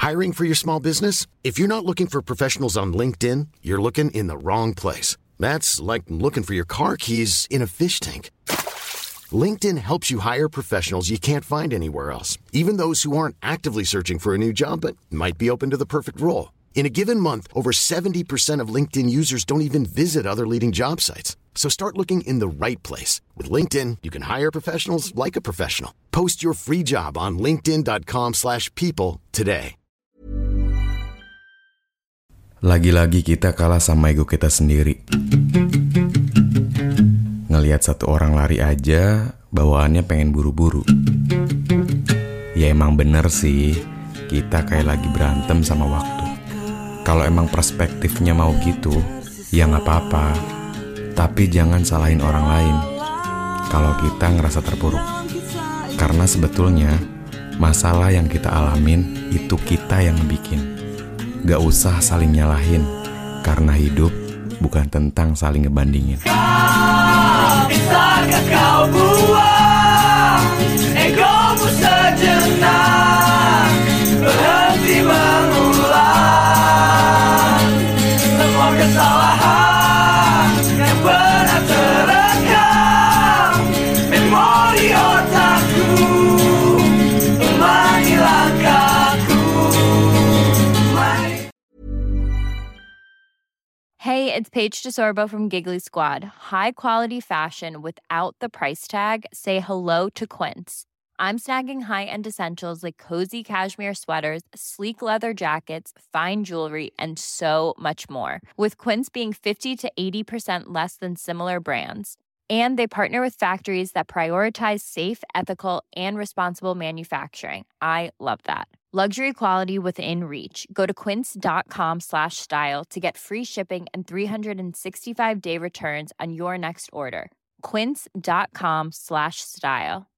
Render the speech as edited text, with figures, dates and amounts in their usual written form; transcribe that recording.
Hiring for your small business? If you're not looking for professionals on LinkedIn, you're looking in the wrong place. That's like looking for your car keys in a fish tank. LinkedIn helps you hire professionals you can't find anywhere else, even those who aren't actively searching for a new job but might be open to the perfect role. In a given month, over 70% of LinkedIn users don't even visit other leading job sites. So start looking in the right place. With LinkedIn, you can hire professionals like a professional. Post your free job on linkedin.com/people today. Lagi-lagi kita kalah sama ego kita sendiri. Ngelihat satu orang lari aja, bawaannya pengen buru-buru. Ya emang bener sih, kita kayak lagi berantem sama waktu. Kalau emang perspektifnya mau gitu, ya gak apa-apa. Tapi jangan salahin orang lain kalau kita ngerasa terpuruk. Karena sebetulnya, masalah yang kita alamin itu kita yang bikin. Gak usah saling nyalahin, karena hidup bukan tentang saling ngebandingin. Bisakah kau buang egomu sejenak, berhenti mengulang semua kesalahan yang pernah terekam memori otakku, ulangi langkahku. Hey, it's Paige DeSorbo from Giggly Squad. High quality fashion without the price tag. Say hello to Quince. I'm snagging high-end essentials like cozy cashmere sweaters, sleek leather jackets, fine jewelry, and so much more. With Quince being 50 to 80% less than similar brands. And they partner with factories that prioritize safe, ethical, and responsible manufacturing. I love that. Luxury quality within reach. Go to quince.com/style to get free shipping and 365-day returns on your next order. Quince.com/style.